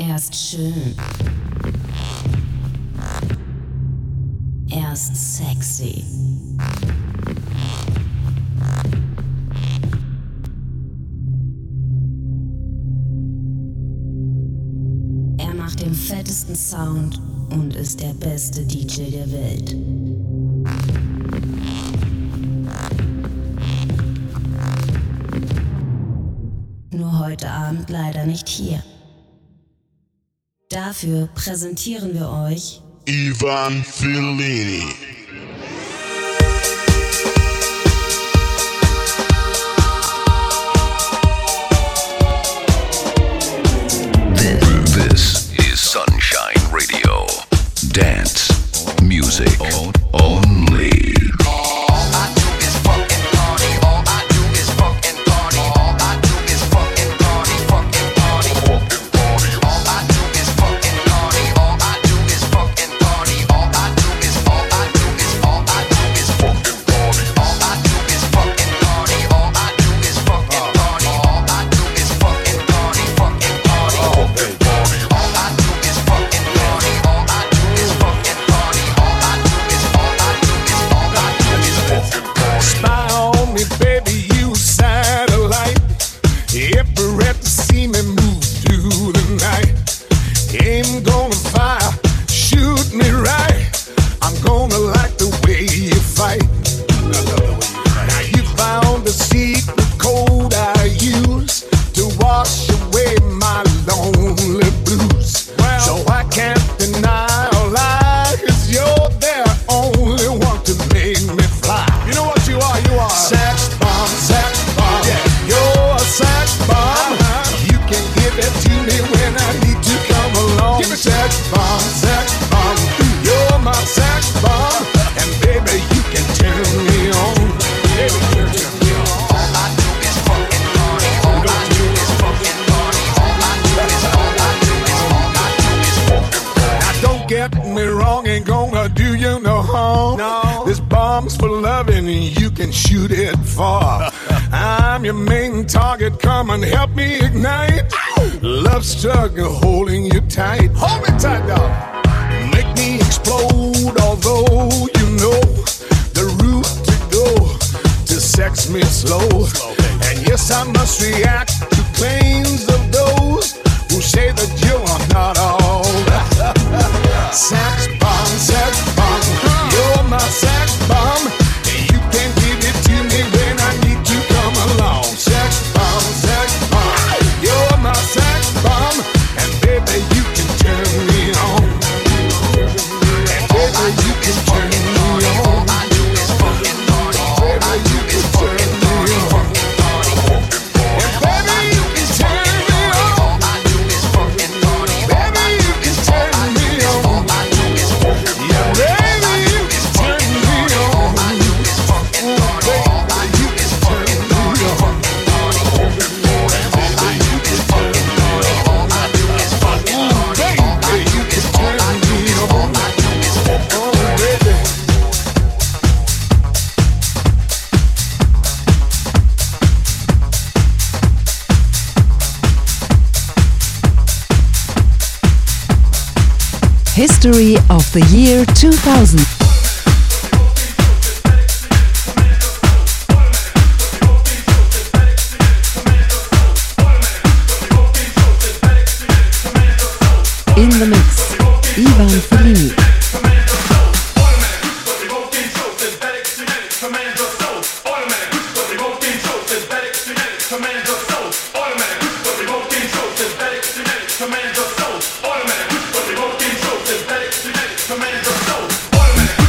Er ist schön. Er ist sexy. Er macht den fettesten Sound und ist der beste DJ der Welt. Nur heute Abend leider nicht hier. Dafür präsentieren wir euch Ivan Fellini. This is Sunshine Radio. Dance music only. Shoot it far. I'm your main target. Come and help me ignite. Love struggle holding you tight. Hold me tight, dog. Make me explode. Although you know the route to go to sex me slow. And yes, I must react to claims of those who say that you are not all. Sex bomb, you're my sex bomb. You're my sex bomb, and baby you can turn me on. And baby you can turn me on. Baby you can turn me on. And baby you can turn me on. Baby you can turn me on. Yeah, baby you can turn me on. Baby you can turn me on. History of the year 2000. In the mix, Ivan Fellini. Command your soul.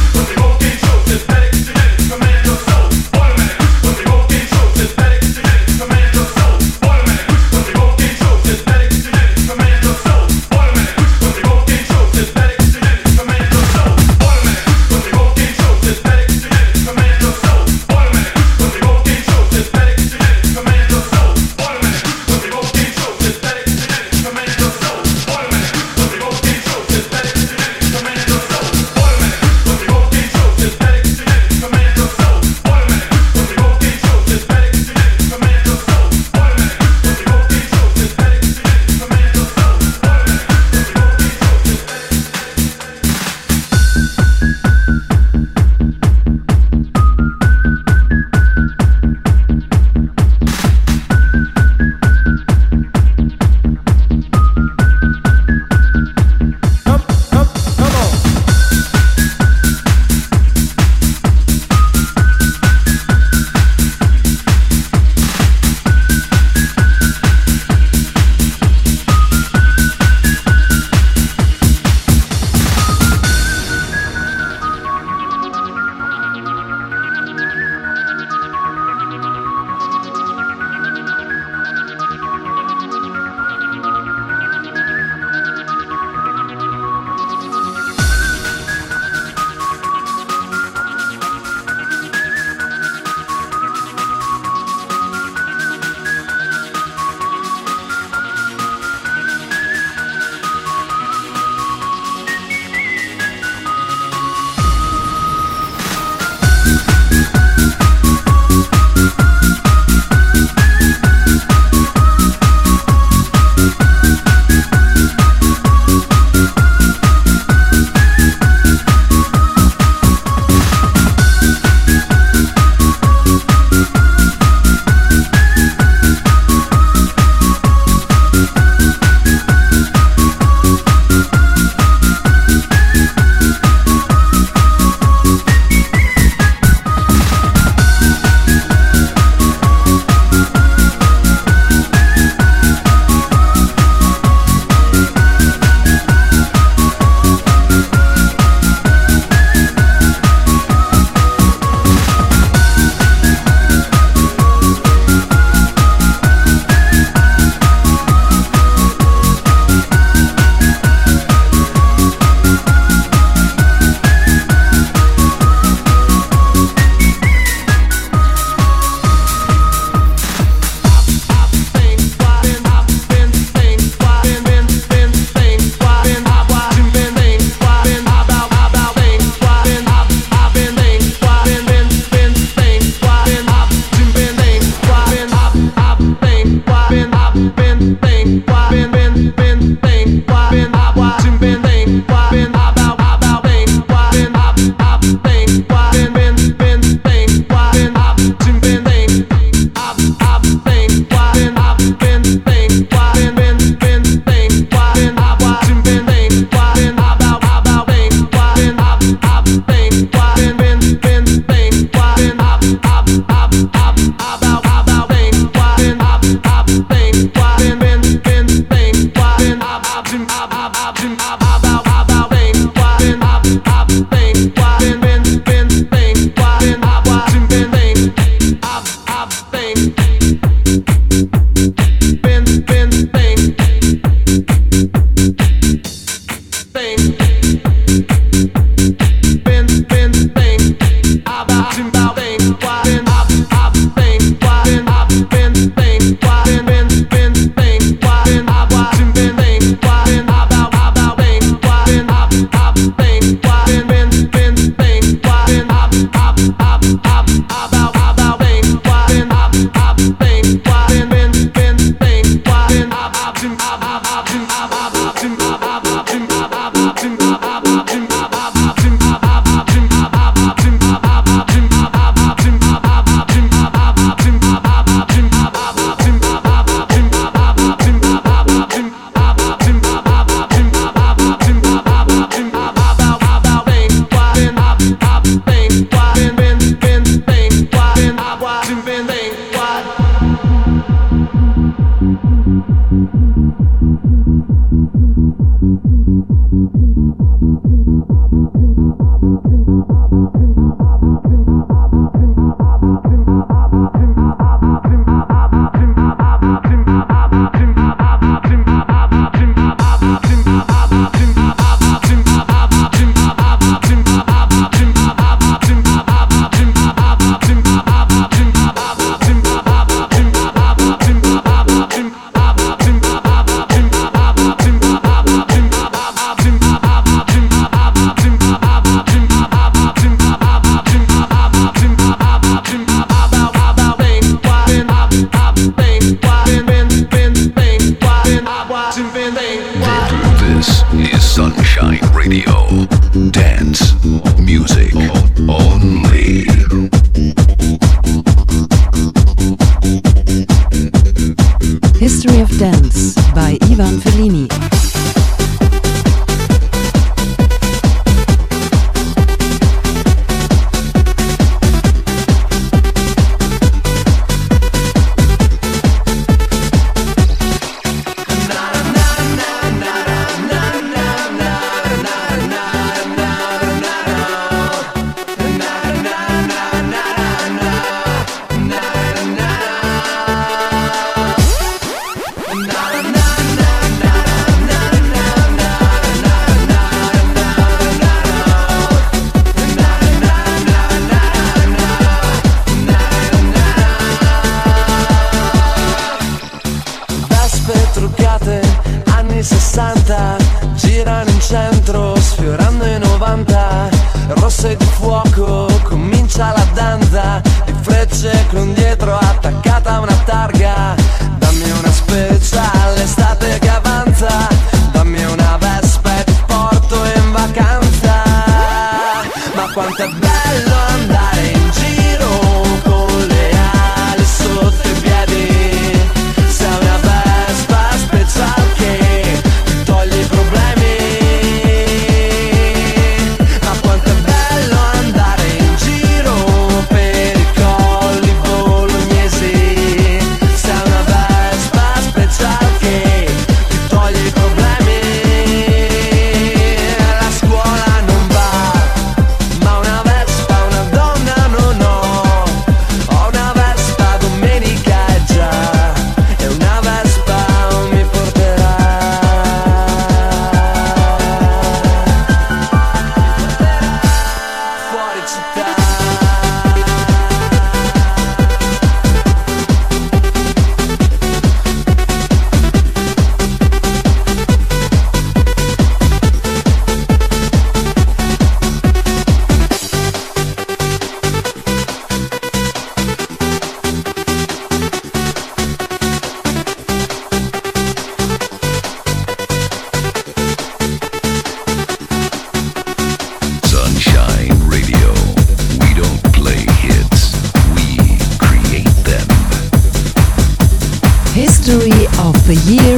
History of the Year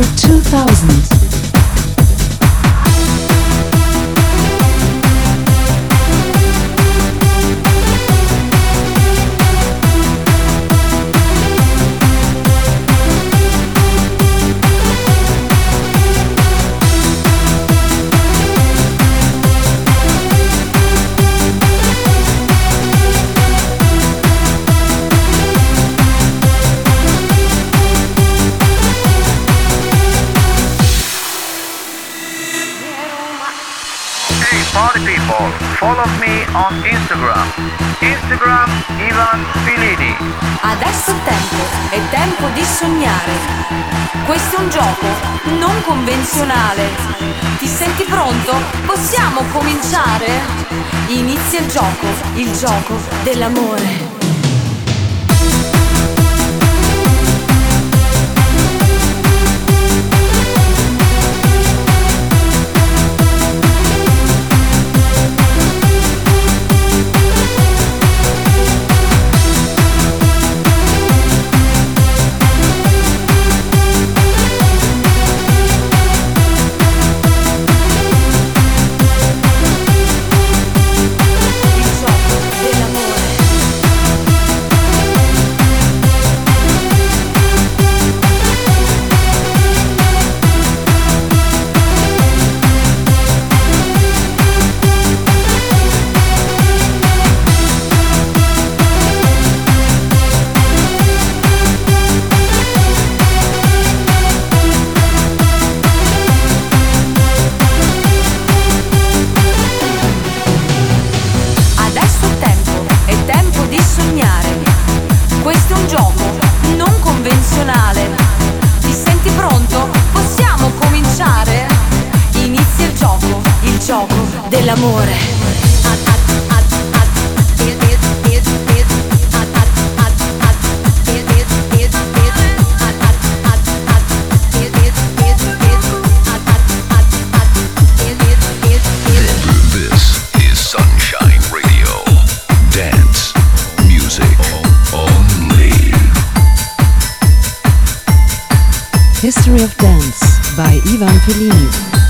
2000. follow me on Instagram. Instagram Ivan Filini. Adesso è tempo di sognare. Questo è un gioco non convenzionale. Ti senti pronto? Possiamo cominciare? Inizia il gioco dell'amore. History of Dance by Ivan Filini.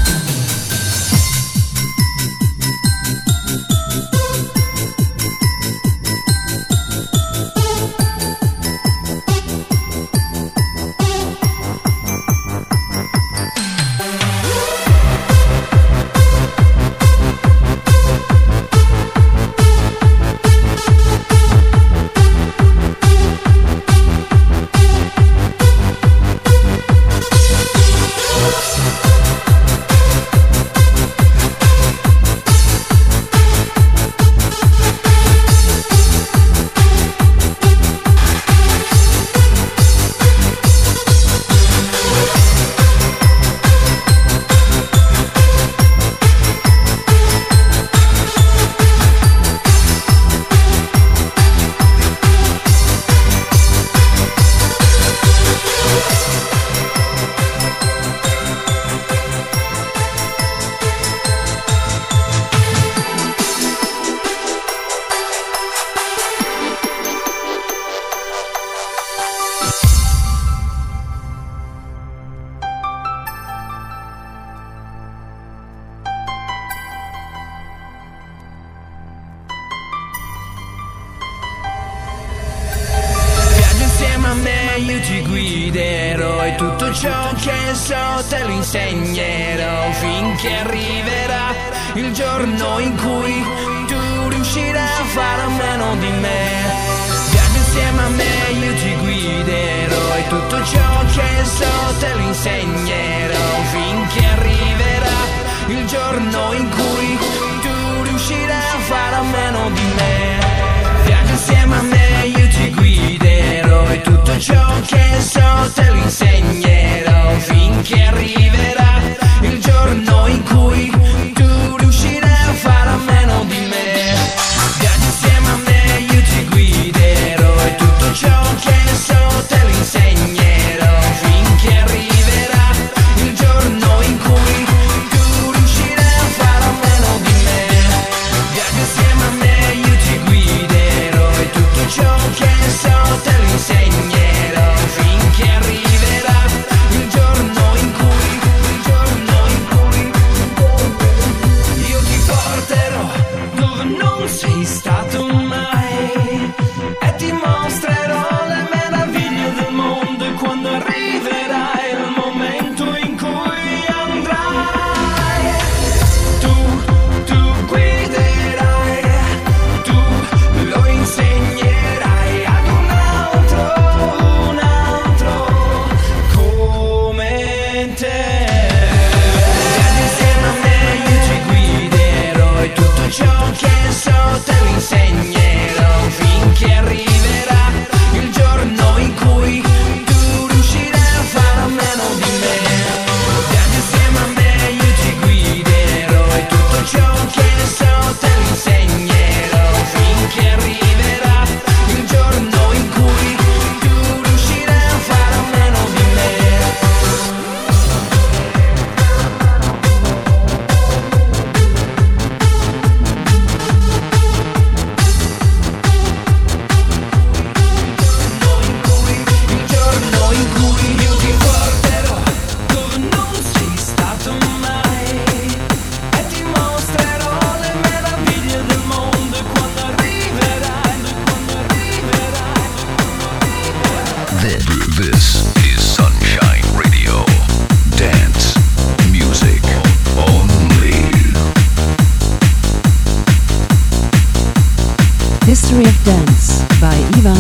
Io ti guiderò e tutto ciò che so te lo insegnerò finché arriverà il giorno in cui tu riuscirai a fare a meno di me. Viaggia insieme a me, io ti guiderò e tutto ciò che so te lo insegnerò finché arriverà il giorno in cui tu riuscirai a fare a meno di me. Viaggia insieme a me, io ti guiderò e tutto ciò che so te lo insegnerò finché arriverà il giorno in cui tu riuscirai a fare a meno di me. Viaggia insieme a me, io ti guiderò e tutto ciò che so te lo insegnerò finché arriverà il giorno in cui tu riuscirai a fare a meno di me.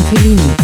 Fellini.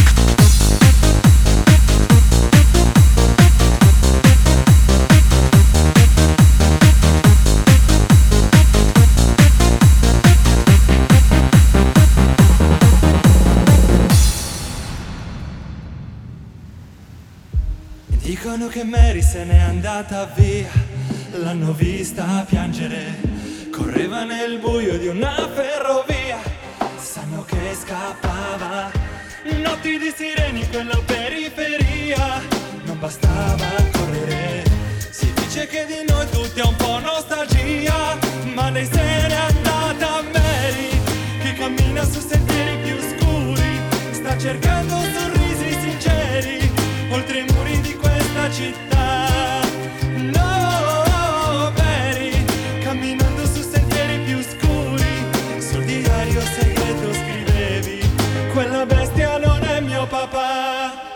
Dicono che Mary se n'è andata via, l'hanno vista piangere, correva nel buio di una ferrovia, sanno che scappava, notti di sireni in quella periferia, non bastava correre, si dice che di noi tutti è un po' nostalgia, ma lei se n'è andata Mary, che cammina su sentieri più scuri, sta cercando sorrisi sinceri, oltre i muri di questa città. No, Mary, camminando su sentieri più scuri, sul diario segreto scrivevi, quella bestia non è mio papà.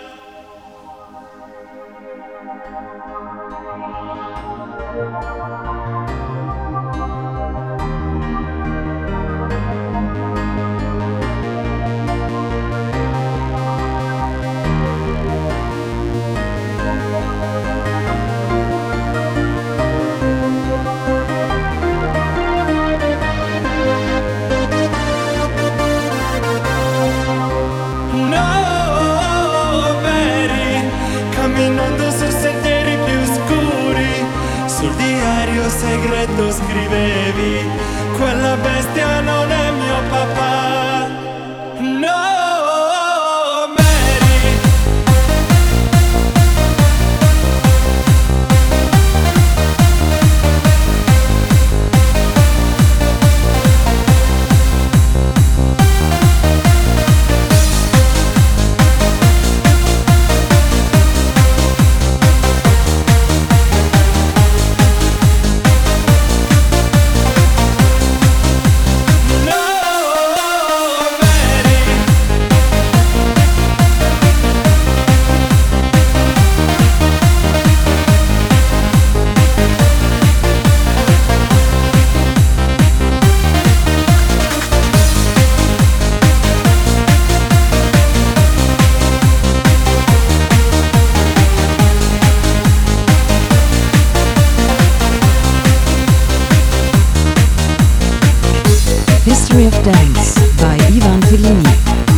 Segreto scrivevi, quella bestia non è mio papà. No, Mary. History of Dance by Ivan Fellini.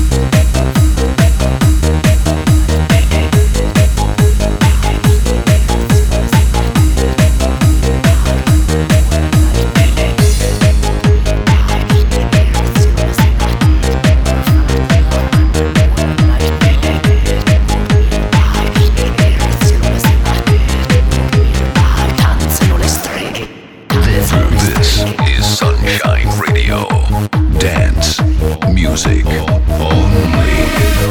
This is Sunshine Radio. Dance music only.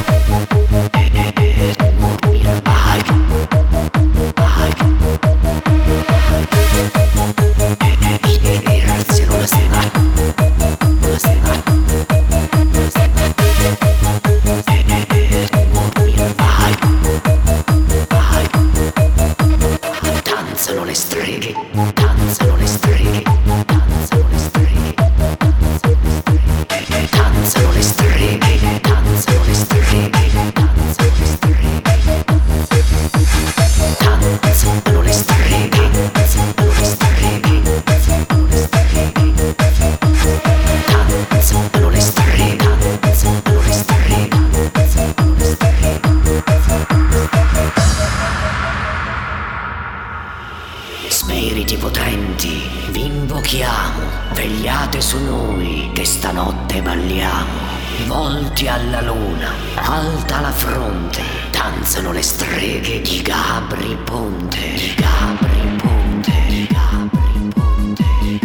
Danzano le streghe, danzano le streghe, danzano le streghe, danzano le streghe, danzano le streghe, danzano le streghe, danzano le streghe, danzano le streghe, danzano le streghe, danzano le streghe, danzano le streghe, danzano le streghe. Spiriti potenti, vi invochiamo, vegliate su noi che stanotte balliamo. Volti alla luna, alta la fronte, danzano le streghe di Gabri Ponte, di Gabri Ponte, di Gabri Ponte, di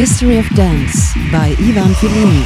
History of Dance by Ivan Fellini.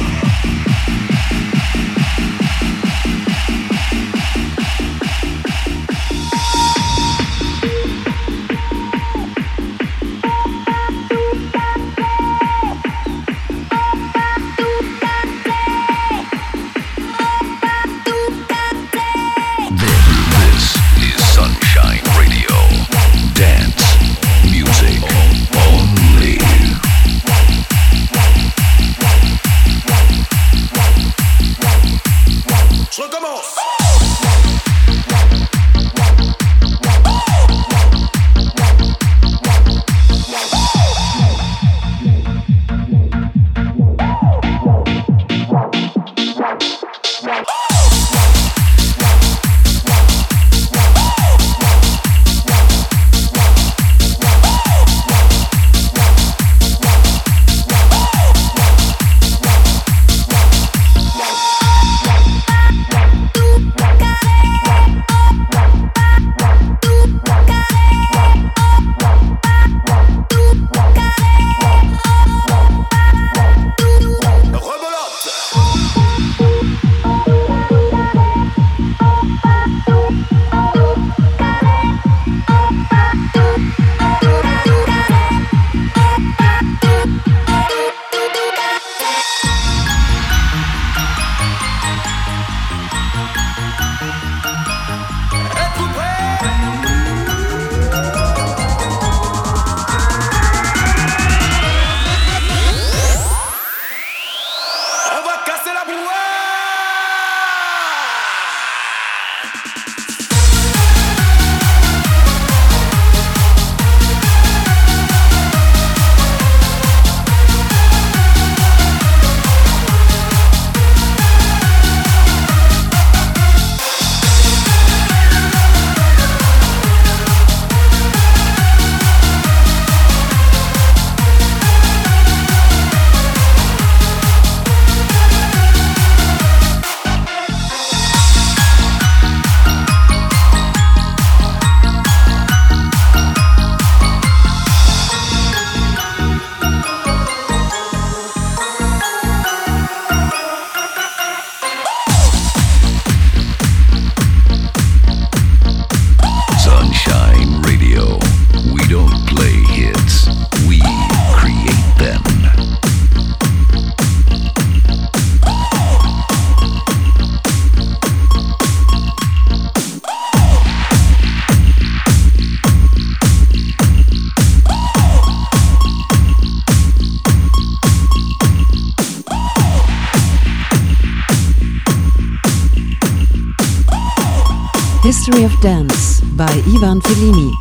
History of Dance by Ivan Fellini.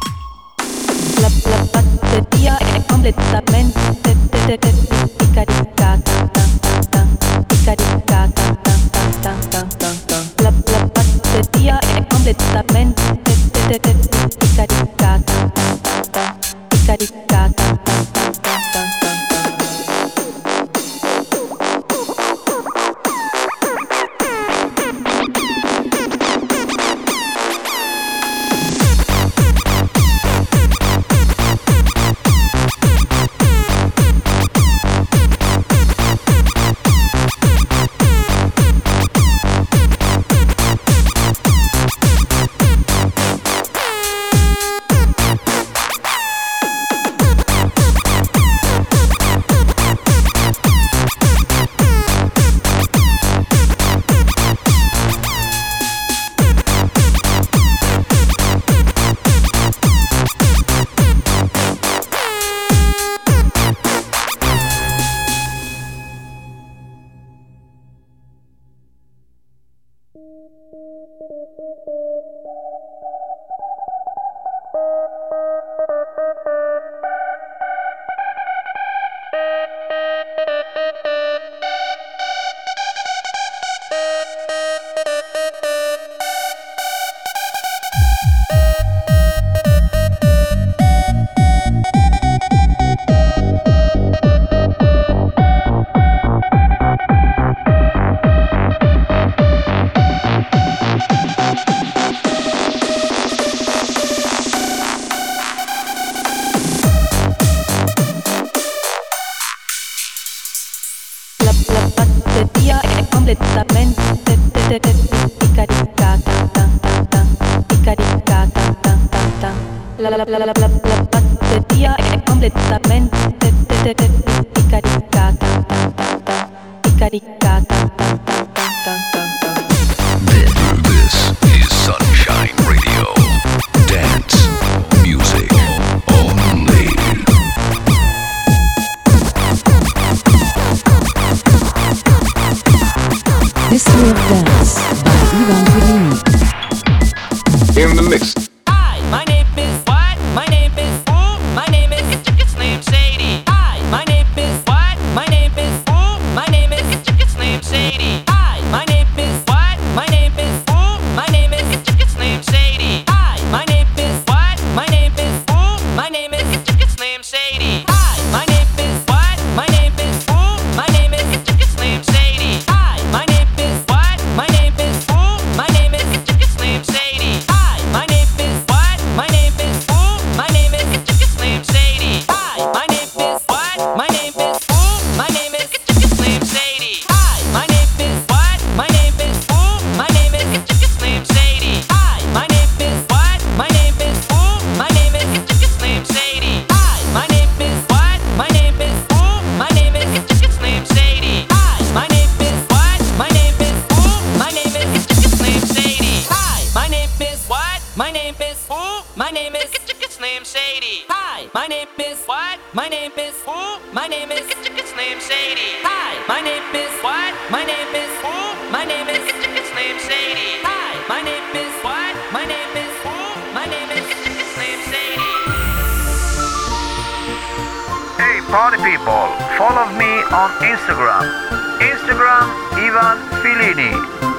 La batteria è completamente caricata. La batteria è completamente caricata. batteria è completamente caricata. This is Sunshine Radio. Dance music only. History of Dance by Ivan Fellini. In the mix. Hi, my name is what? My name is who? My name is it's named Sadie. Hi, my name is what? My name is who? My name is it's named Sadie. Hi, my name is what? My name is who? My name is it's named Sadie. Hi, my name is what? My name is who? My name is it's named Sadie. Hi, my name is what? My name is who? My name is it's named Sadie. Hi, my name is what? My name is who? My name is it's named Sadie. Hi, my name is what? My name is who? My name is it's named Sadie. Hi, my name is what? My name is who? My name is it's named Sadie. Hi, my name is what? My name is who? My name is it's named Sadie. Hi, my name is what? My name is who? My name is it's named Sadie. Hi, my name is what? My name is who? My name is it's named Sadie. Hi, my name is what? My name is who? My name is it's named Sadie. Hi, my name is what? My name is who? My name is it's named Sadie. Hi, my name is what? My name is who? My name is it's named Sadie. Hi, my name is what? My name is who? My name is it's named Sadie. Hi, my name is what? My name is who? My name is it's named Sadie. Hey party people, follow me on Instagram. Instagram Ivan Fellini.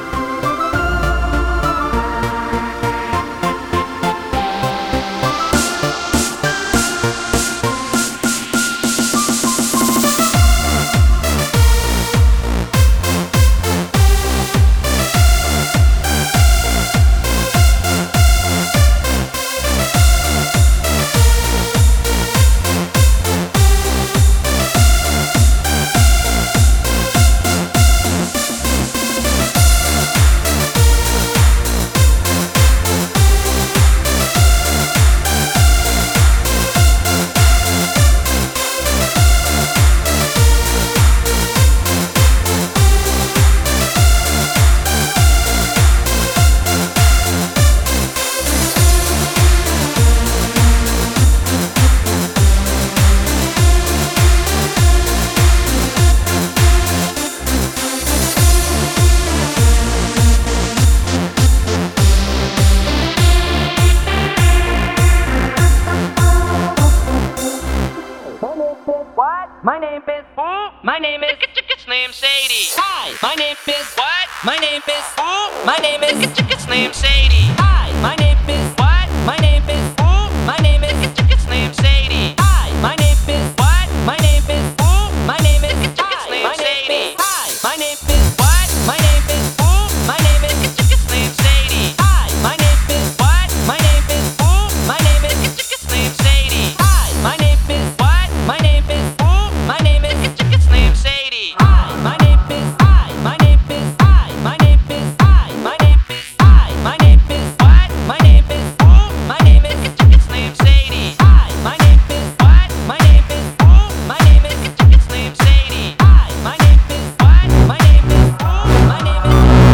What? My name is who? My name is it's named Sadie. Hi, my name is what? My name is who? My name is it's named Sadie. Hi, my name is what? My name is who? My name is it's named Sadie. Hi, my name is what? My name is who? My name is it's named Sadie. Hi, my name is what? My name is who? My name is it's named Sadie. Hi, my name is what? My name is who? My name is it's named Sadie. Hi, my name is what? My name is who? My name is it's named Sadie. Hi, my name is I. My name is I. My name is I. My name is I. My name is what? My name is who? My name is it's named Sadie. Hi, my name is what? My name is who? My name is it's named Sadie. Hi, my name is what? My name is who? My name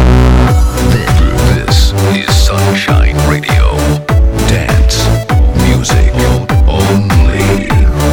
is. This is Sunshine Radio. Dance music only.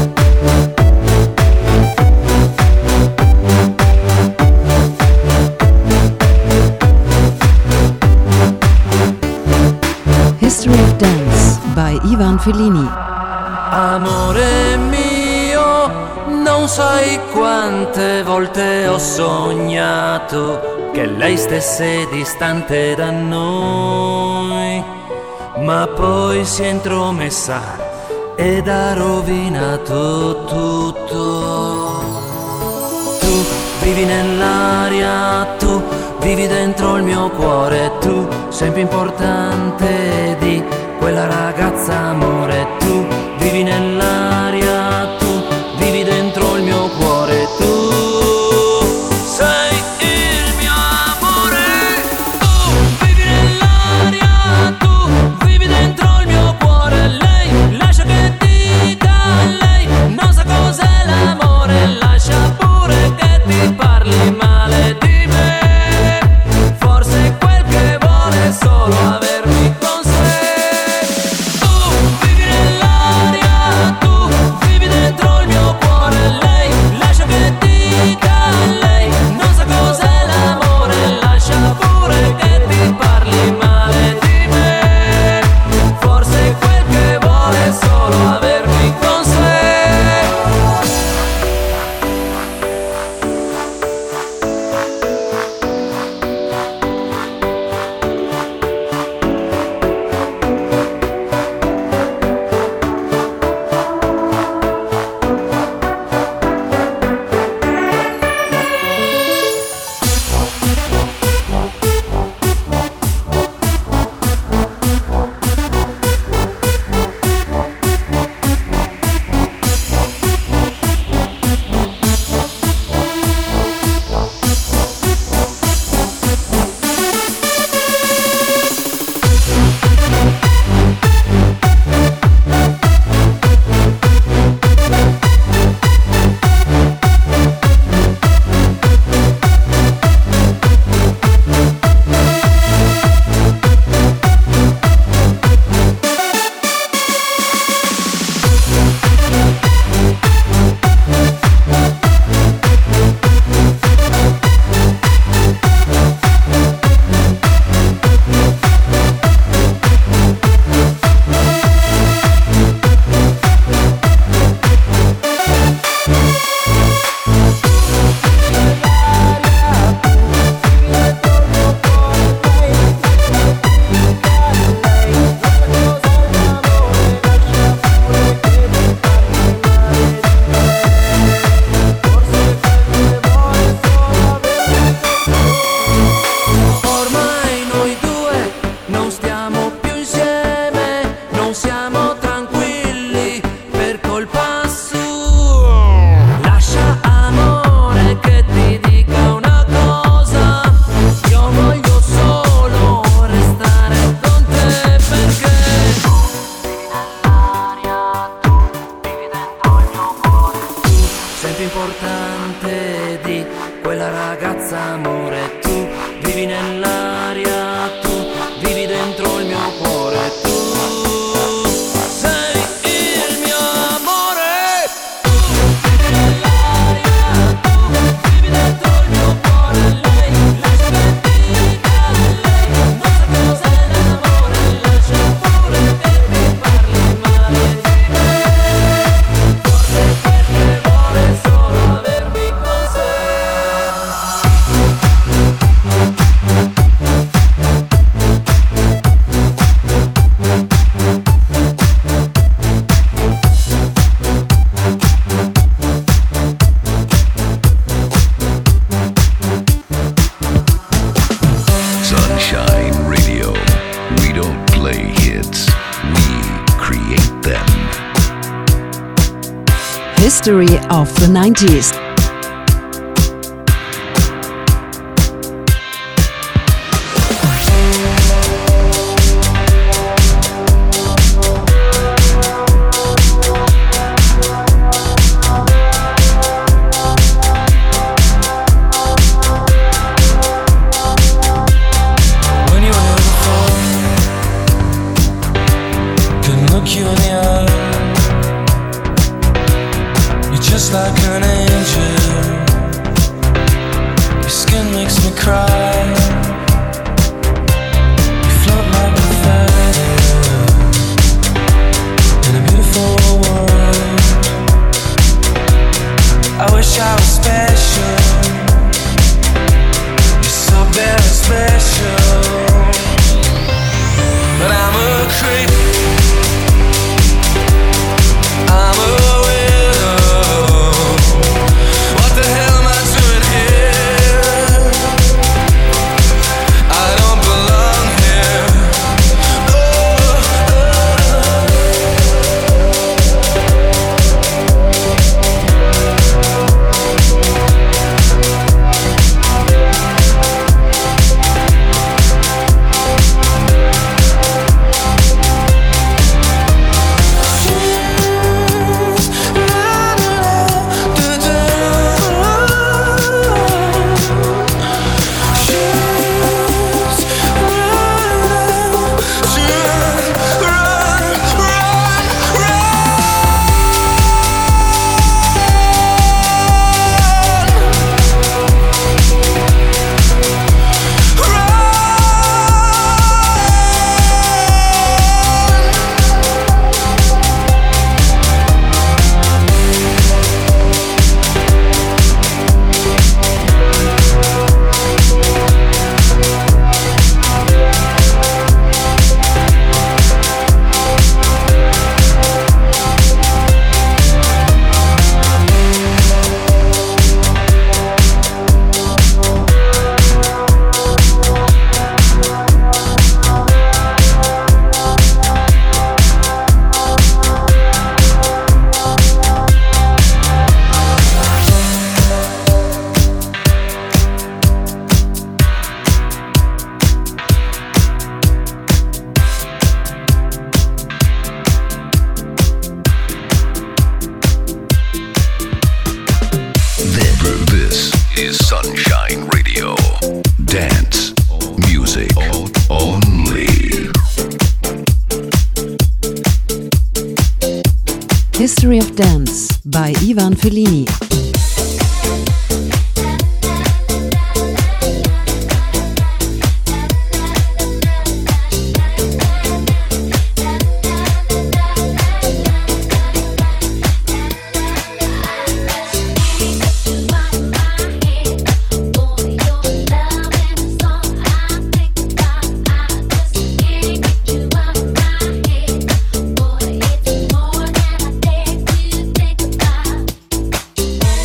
History of Dance by Ivan Fellini. Amore mio, non sai quante volte ho sognato che lei stesse distante da noi, ma poi si è intromessa ed ha rovinato tutto. Tu vivi nell'aria, tu vivi dentro il mio cuore, tu sei più importante di quella ragazza, amore. Tu vivi nell'aria, tu vivi dentro il mio cuore, tu sei il mio amore. Tu vivi nell'aria, tu vivi dentro il mio cuore, lei Sunshine Radio. We don't play hits, we create them. History of the 90s. History of Dance by Ivan Fellini. Thank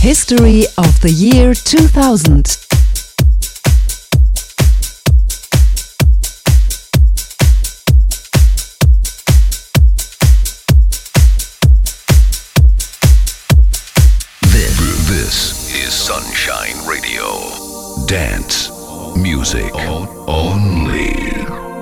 History of the Year 2000. This is Sunshine Radio. Dance music only.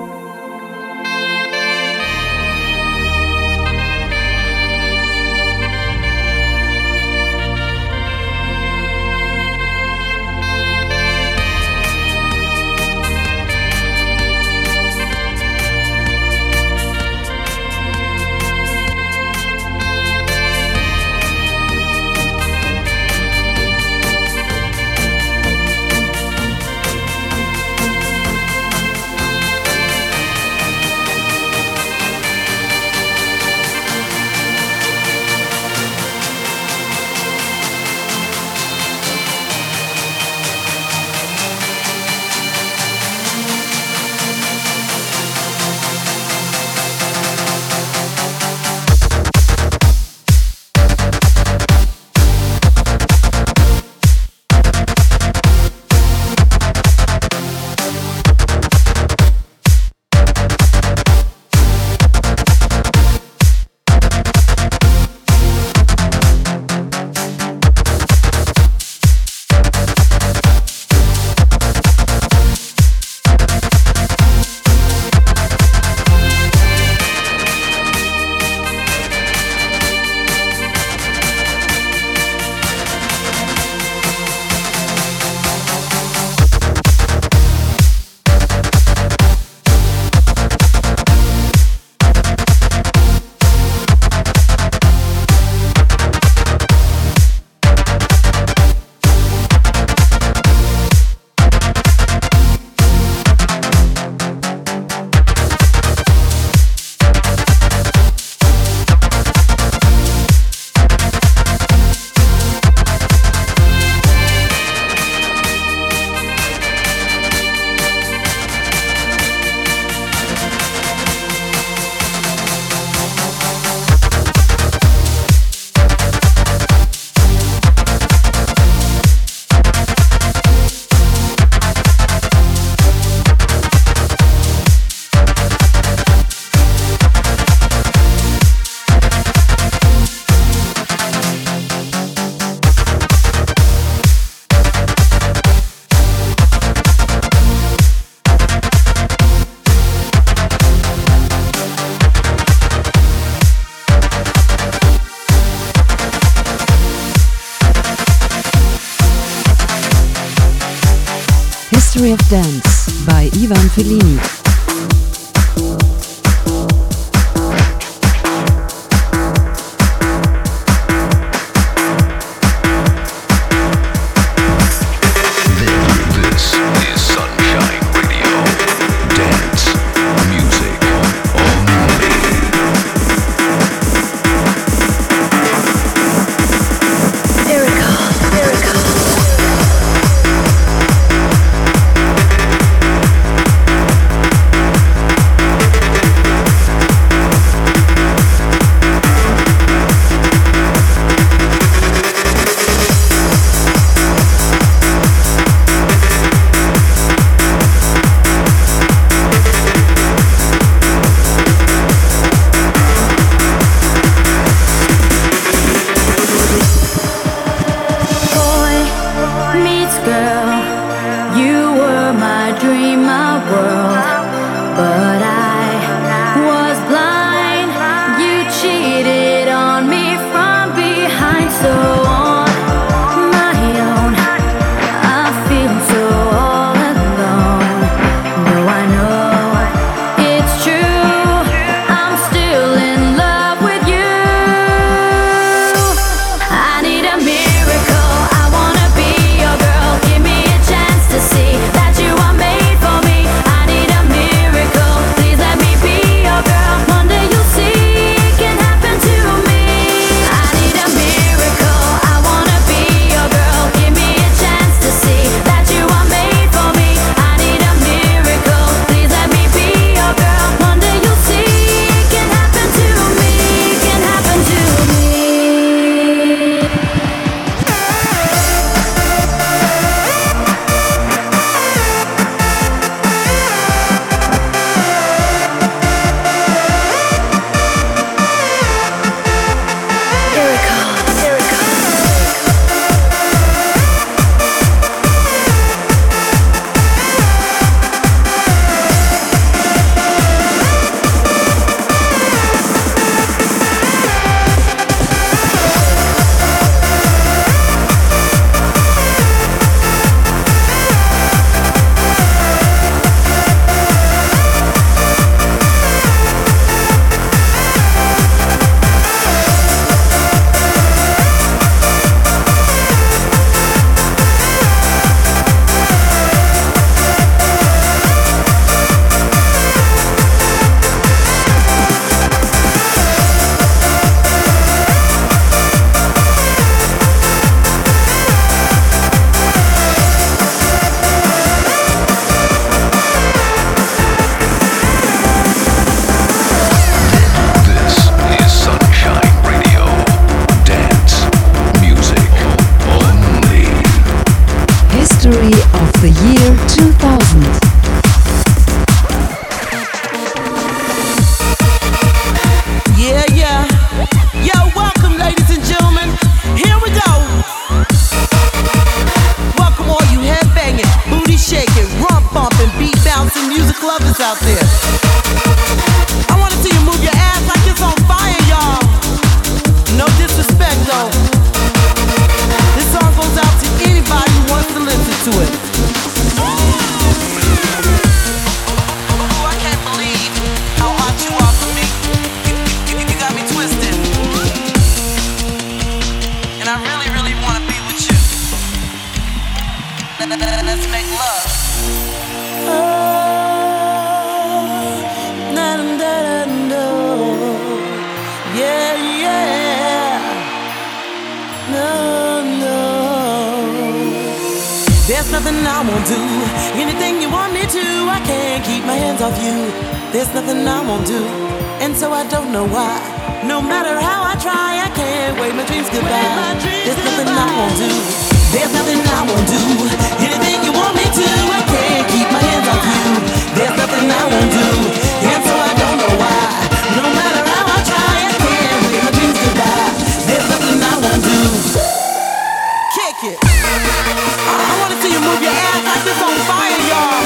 History of Dance by Ivan Fellini. there. I wanna see you move your ass like it's on fire, y'all. No disrespect though. This song goes out to anybody who wants to listen to it. I can't believe how hot you are for me. You got me twisted. And I really, really wanna be with you. Let's make love. Yeah, yeah. No. There's nothing I won't do. Anything you want me to, I can't keep my hands off you. There's nothing I won't do, and so I don't know why. No matter how I try, I can't wave my dreams goodbye. There's nothing I won't do. There's nothing I won't do. Anything you want me to, I can't keep my hands off you. There's nothing I won't do, and so I don't know why. No matter how I try, I can't wave my dreams goodbye. There's nothing I won't do. Kick it. I wanna see you move your ass like it's on fire, y'all.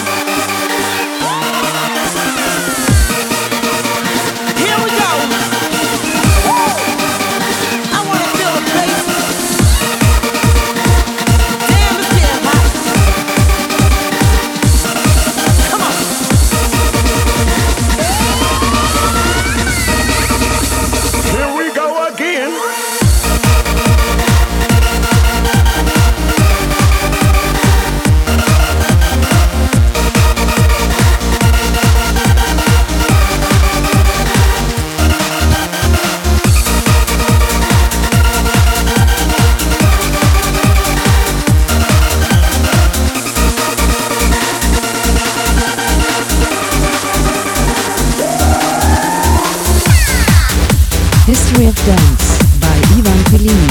Here we go. I wanna feel the bass. Damn, it's getting hot. Come on. Here we go again. History of Dance by Ivan Fellini.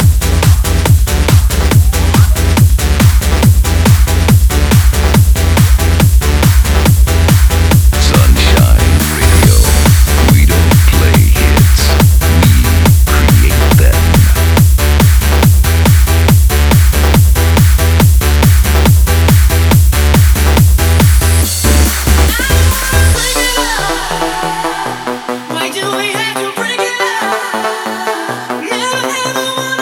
Sunshine Radio. We don't play hits, we create them. Why do we have to break it up? Never ever wanna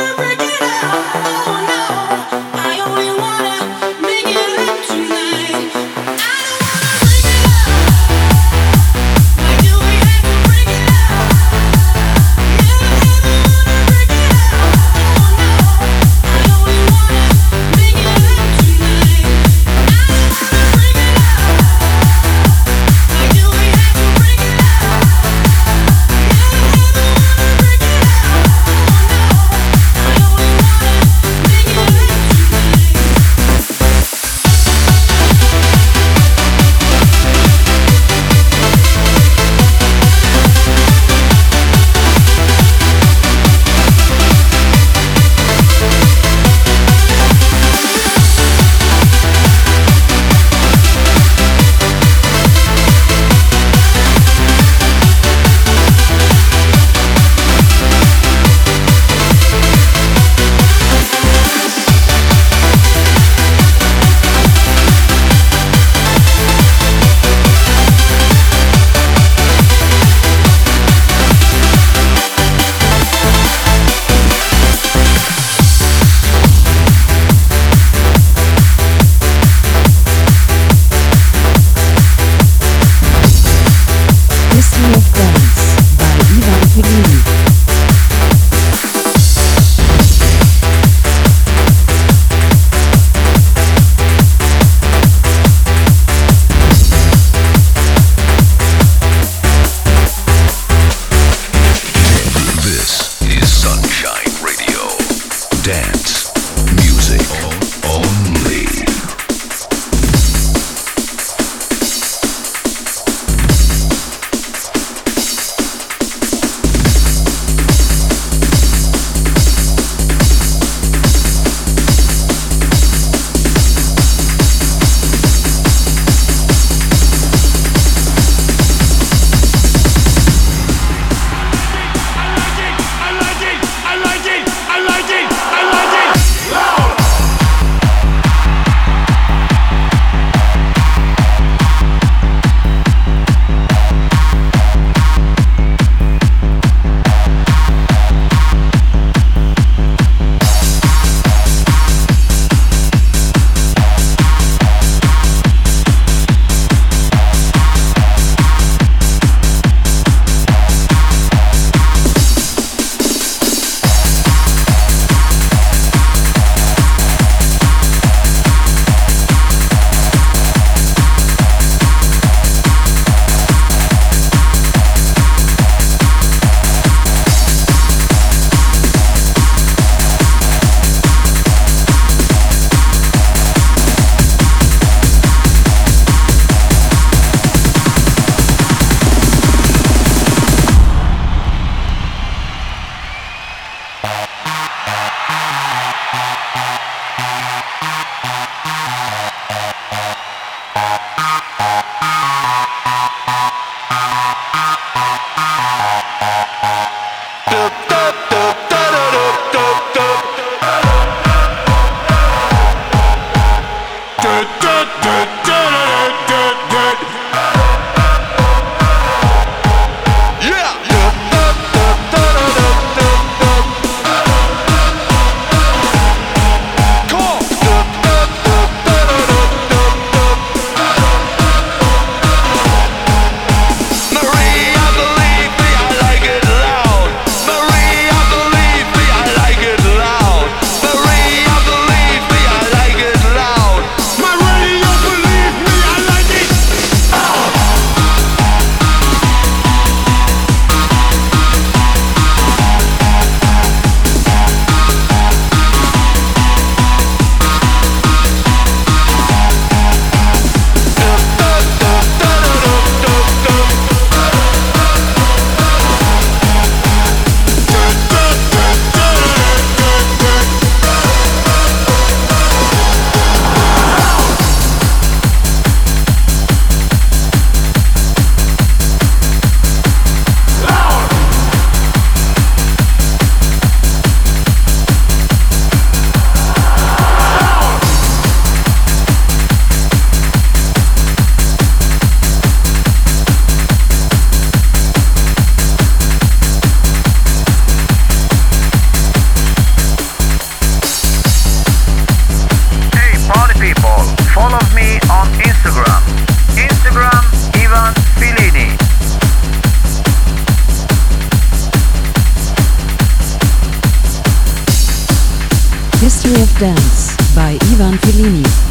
History of Dance by Ivan Fellini.